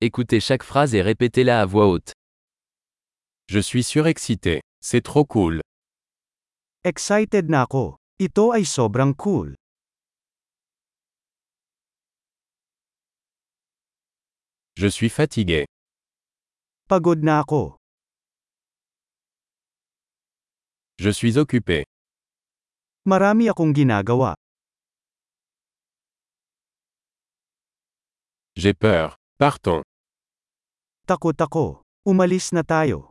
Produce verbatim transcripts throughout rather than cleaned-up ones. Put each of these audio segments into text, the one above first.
Écoutez chaque phrase et répétez-la à voix haute. Je suis surexcité. C'est trop cool. Excited na ako. Ito ay sobrang cool. Je suis fatigué. Pagod na ako. Je suis occupé. Marami akong ginagawa. J'ai peur. Partons. Takot ako. Umalis na tayo.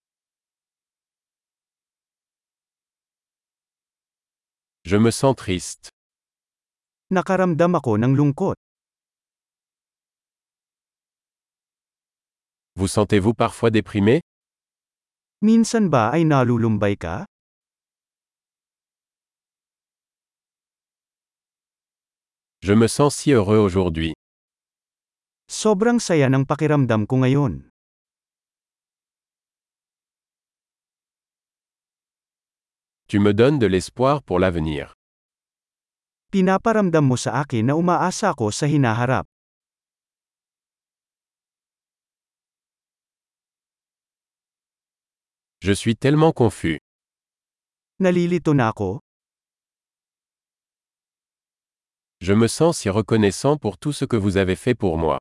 Je me sens triste. Nakaramdam ako ng lungkot. Vous sentez-vous parfois déprimé? Minsan ba ay nalulumbay ka? Je me sens si heureux aujourd'hui. Sobrang saya ng pakiramdam ko ngayon. Tu me donnes de l'espoir pour l'avenir. Pinaparamdam mo sa akin na umaasa ako sa hinaharap. Je suis tellement confus. Nalilito na ako. Je me sens si reconnaissant pour tout ce que vous avez fait pour moi.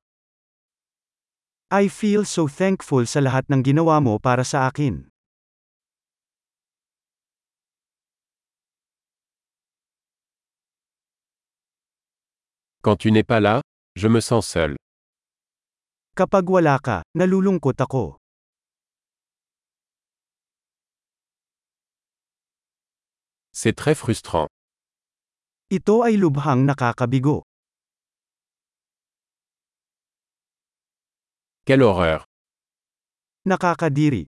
I feel so thankful sa lahat ng ginawa mo para sa akin. Quand tu n'es pas là, je me sens seul. Kapag wala ka, nalulungkot ako. C'est très frustrant. Ito ay lubhang nakakabigo. Quelle horreur. Nakakadiri.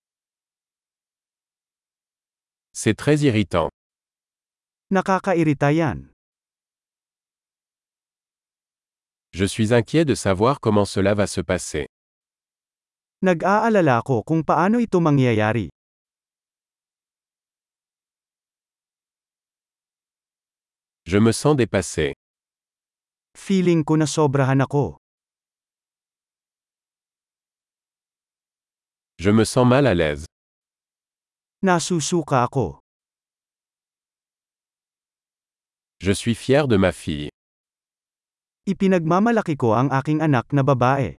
C'est très irritant. Nakakairita yan. Je suis inquiet de savoir comment cela va se passer. Nag-aalala ako kung paano ito mangyayari. Je me sens dépassé. Feeling ko na sobrahan ako. Je me sens mal à l'aise. Nasusuka ako. Je suis fier de ma fille. Ipinagmamalaki ko ang aking anak na babae.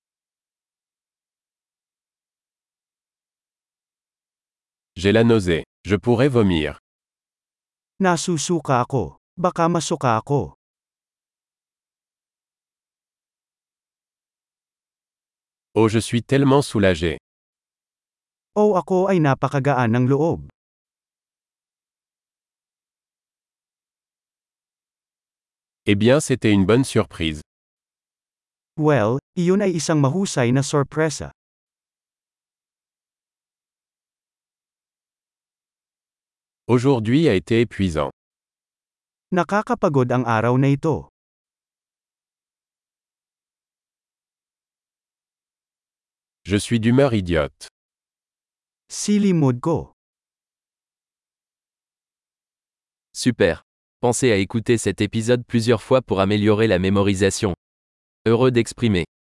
J'ai la nausée. Je pourrais vomir. Nasusuka ako. Baka masuka ako. Oh, je suis tellement soulagé. O ako ay napakagaan ng loob. Eh bien, c'était une bonne surprise. Well, iyon ay isang mahusay na sorpresa. Aujourd'hui a été épuisant. Nakakapagod ang araw na ito. Je suis d'humeur idiote. Silly mood ko. Super. Pensez à écouter cet épisode plusieurs fois pour améliorer la mémorisation. Heureux d'exprimer.